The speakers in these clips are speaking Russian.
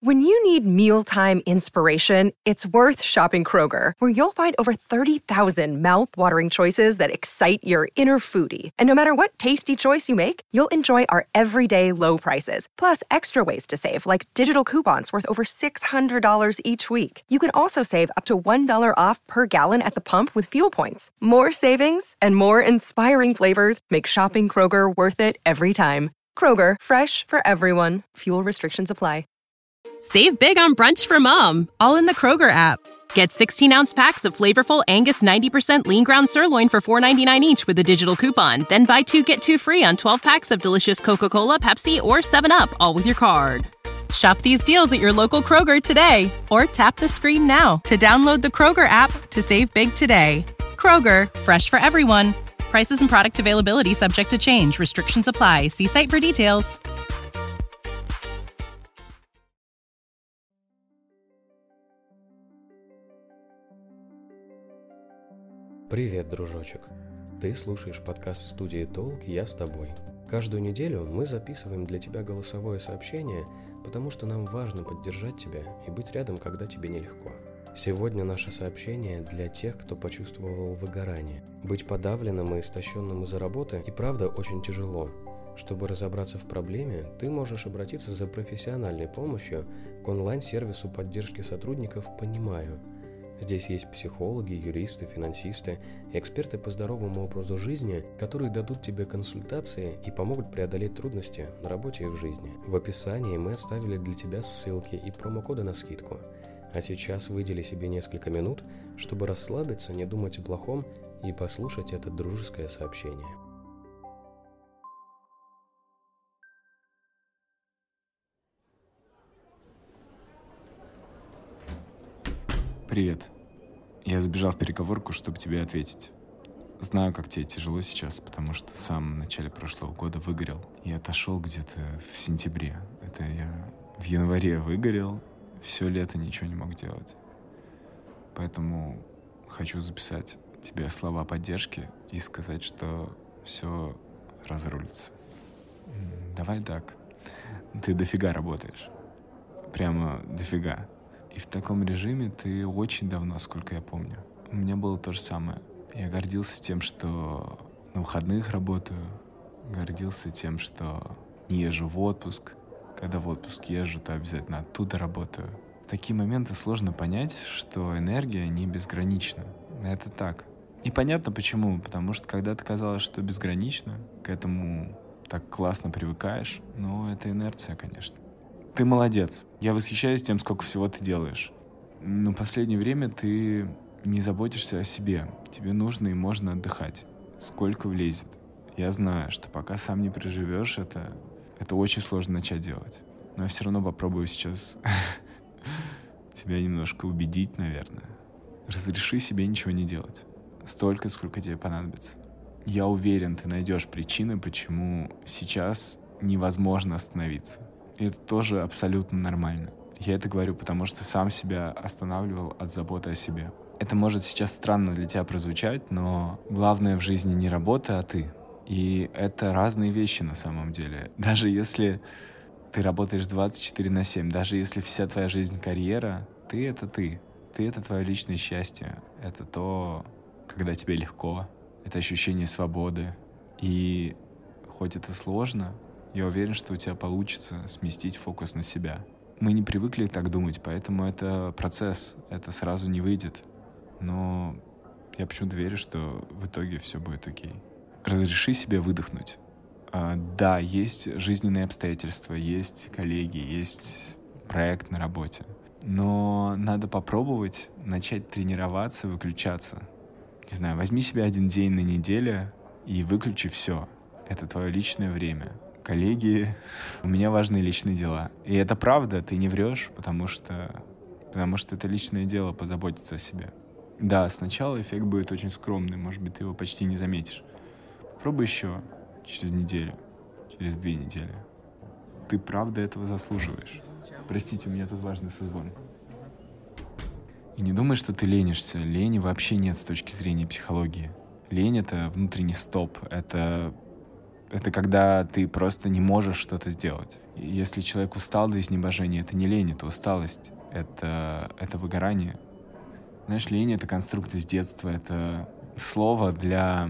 When you need mealtime inspiration, it's worth shopping Kroger, where you'll find over 30,000 mouth-watering choices that excite your inner foodie. And no matter what tasty choice you make, you'll enjoy our everyday low prices, plus extra ways to save, like digital coupons worth over $600 each week. You can also save up to $1 off per gallon at the pump with fuel points. More savings and more inspiring flavors make shopping Kroger worth it every time. Kroger, fresh for everyone. Fuel restrictions apply. Save big on brunch for mom, all in the Kroger app. Get 16-ounce packs of flavorful Angus 90% lean ground sirloin for $4.99 each with a digital coupon. Then buy 2, get 2 free on 12 packs of delicious Coca-Cola, Pepsi, or 7-Up, all with your card. Shop these deals at your local Kroger today, or tap the screen now to download the Kroger app to save big today. Kroger, fresh for everyone. Prices and product availability subject to change. Restrictions apply. See site for details. Привет, дружочек! Ты слушаешь подкаст студии «Толк», я с тобой. Каждую неделю мы записываем для тебя голосовое сообщение, потому что нам важно поддержать тебя и быть рядом, когда тебе нелегко. Сегодня наше сообщение для тех, кто почувствовал выгорание. Быть подавленным и истощенным из-за работы и правда очень тяжело. Чтобы разобраться в проблеме, ты можешь обратиться за профессиональной помощью к онлайн-сервису поддержки сотрудников «Понимаю». Здесь есть психологи, юристы, финансисты и эксперты по здоровому образу жизни, которые дадут тебе консультации и помогут преодолеть трудности на работе и в жизни. В описании мы оставили для тебя ссылки и промокоды на скидку. А сейчас выдели себе несколько минут, чтобы расслабиться, не думать о плохом и послушать это дружеское сообщение. Привет. Я забежал в переговорку, чтобы тебе ответить. Знаю, как тебе тяжело сейчас, потому что сам в начале прошлого года выгорел. И отошел где-то в сентябре. Это я в январе выгорел, все лето ничего не мог делать. Поэтому хочу записать тебе слова поддержки и сказать, что все разрулится. Давай так. Ты дофига работаешь. Прямо дофига. И в таком режиме ты очень давно, сколько я помню. У меня было то же самое. Я гордился тем, что на выходных работаю. Гордился тем, что не езжу в отпуск. Когда в отпуск езжу, то обязательно оттуда работаю. В такие моменты сложно понять, что энергия не безгранична. Это так. Непонятно почему, потому что когда-то казалось, что безгранично, к этому так классно привыкаешь, но это инерция, конечно. Ты молодец. Я восхищаюсь тем, сколько всего ты делаешь. Но в последнее время ты не заботишься о себе. Тебе нужно и можно отдыхать. Сколько влезет. Я знаю, что пока сам не проживешь, это очень сложно начать делать. Но я все равно попробую сейчас тебя немножко убедить, наверное. Разреши себе ничего не делать. Столько, сколько тебе понадобится. Я уверен, ты найдешь причины, почему сейчас невозможно остановиться. И это тоже абсолютно нормально. Я это говорю, потому что сам себя останавливал от заботы о себе. Это может сейчас странно для тебя прозвучать, но главное в жизни не работа, а ты. И это разные вещи на самом деле. Даже если ты работаешь 24/7, даже если вся твоя жизнь карьера, ты — это ты. Ты — это твое личное счастье. Это то, когда тебе легко. Это ощущение свободы. И хоть это сложно, я уверен, что у тебя получится сместить фокус на себя. Мы не привыкли так думать, поэтому это процесс, это сразу не выйдет. Но я почему-то верю, что в итоге все будет окей. Разреши себе выдохнуть. Да, есть жизненные обстоятельства, есть коллеги, есть проект на работе. Но надо попробовать начать тренироваться, выключаться. Не знаю, возьми себе 1 день на неделю и выключи все. Это твое личное время. Коллеги, у меня важные личные дела. И это правда, ты не врешь, потому что это личное дело позаботиться о себе. Да, сначала эффект будет очень скромный, может быть, ты его почти не заметишь. Попробуй еще через неделю, через 2 недели. Ты правда этого заслуживаешь. Простите, у меня тут важный созвон. И не думай, что ты ленишься. Лени вообще нет с точки зрения психологии. Лень — это внутренний стоп, это Это когда ты просто не можешь что-то сделать. И если человек устал до изнеможения, это не лень, это усталость, это выгорание. Знаешь, лень — это конструкт из детства, это слово для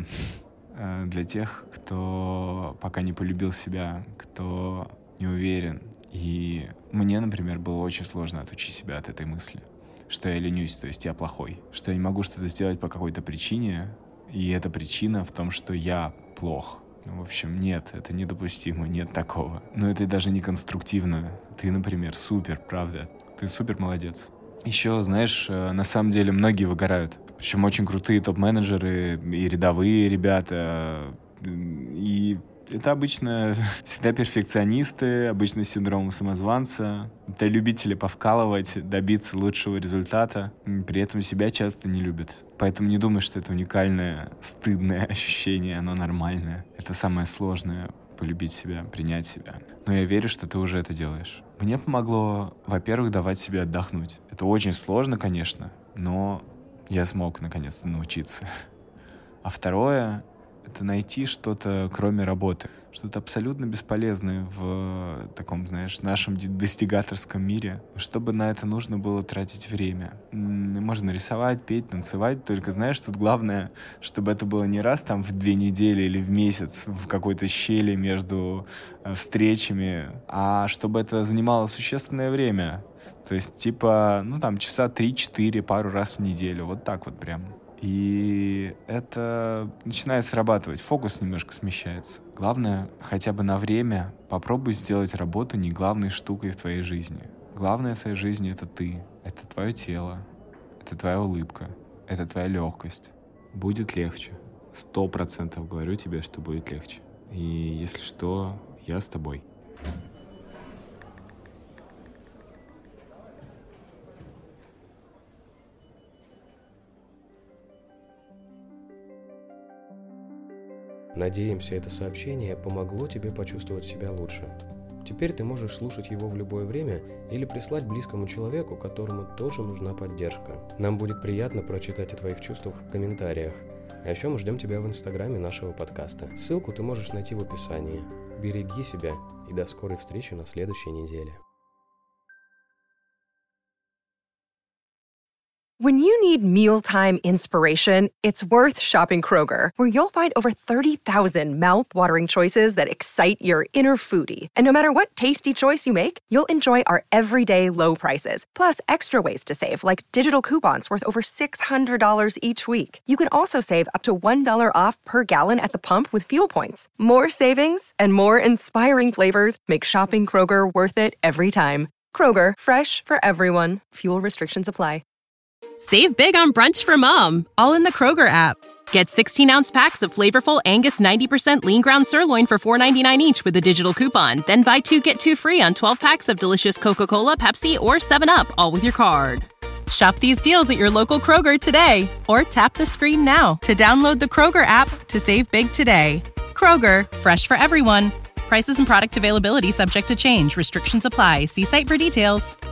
тех, кто пока не полюбил себя, кто не уверен. И мне, например, было очень сложно отучить себя от этой мысли, что я ленюсь, то есть я плохой, что я не могу что-то сделать по какой-то причине, и эта причина в том, что я плох. В общем, нет, это недопустимо, нет такого. Но это даже не конструктивно. Ты, например, супер, правда. Ты супер молодец. Еще, знаешь, на самом деле многие выгорают. Причем очень крутые топ-менеджеры и рядовые ребята. И это обычно всегда перфекционисты, обычно с синдромом самозванца. Это любители повкалывать, добиться лучшего результата. При этом себя часто не любят. Поэтому не думай, что это уникальное, стыдное ощущение, оно нормальное. Это самое сложное — полюбить себя, принять себя. Но я верю, что ты уже это делаешь. Мне помогло, во-первых, давать себе отдохнуть. Это очень сложно, конечно, но я смог наконец-то научиться. А второе — это найти что-то, кроме работы. Что-то абсолютно бесполезное в таком, знаешь, нашем достигаторском мире. Чтобы на это нужно было тратить время. Можно рисовать, петь, танцевать. Только, знаешь, тут главное, чтобы это было не раз там в 2 недели или в месяц в какой-то щели между встречами, а чтобы это занимало существенное время. То есть, типа, часа 3-4, пару раз в неделю. Вот так вот прям. И это начинает срабатывать, фокус немножко смещается. Главное, хотя бы на время попробуй сделать работу не главной штукой в твоей жизни. Главное в твоей жизни — это ты, это твое тело, это твоя улыбка, это твоя легкость. Будет легче. 100% говорю тебе, что будет легче. И если что, я с тобой. Надеемся, это сообщение помогло тебе почувствовать себя лучше. Теперь ты можешь слушать его в любое время или прислать близкому человеку, которому тоже нужна поддержка. Нам будет приятно прочитать о твоих чувствах в комментариях. А еще мы ждем тебя в инстаграме нашего подкаста. Ссылку ты можешь найти в описании. Береги себя и до скорой встречи на следующей неделе. When you need mealtime inspiration, it's worth shopping Kroger, where you'll find over 30,000 mouth-watering choices that excite your inner foodie. And no matter what tasty choice you make, you'll enjoy our everyday low prices, plus extra ways to save, like digital coupons worth over $600 each week. You can also save up to $1 off per gallon at the pump with fuel points. More savings and more inspiring flavors make shopping Kroger worth it every time. Kroger, fresh for everyone. Fuel restrictions apply. Save big on brunch for mom, all in the Kroger app. Get 16-ounce packs of flavorful Angus 90% lean ground sirloin for $4.99 each with a digital coupon. Then buy 2, get 2 free on 12 packs of delicious Coca-Cola, Pepsi, or 7-Up, all with your card. Shop these deals at your local Kroger today, or tap the screen now to download the Kroger app to save big today. Kroger, fresh for everyone. Prices and product availability subject to change. Restrictions apply. See site for details.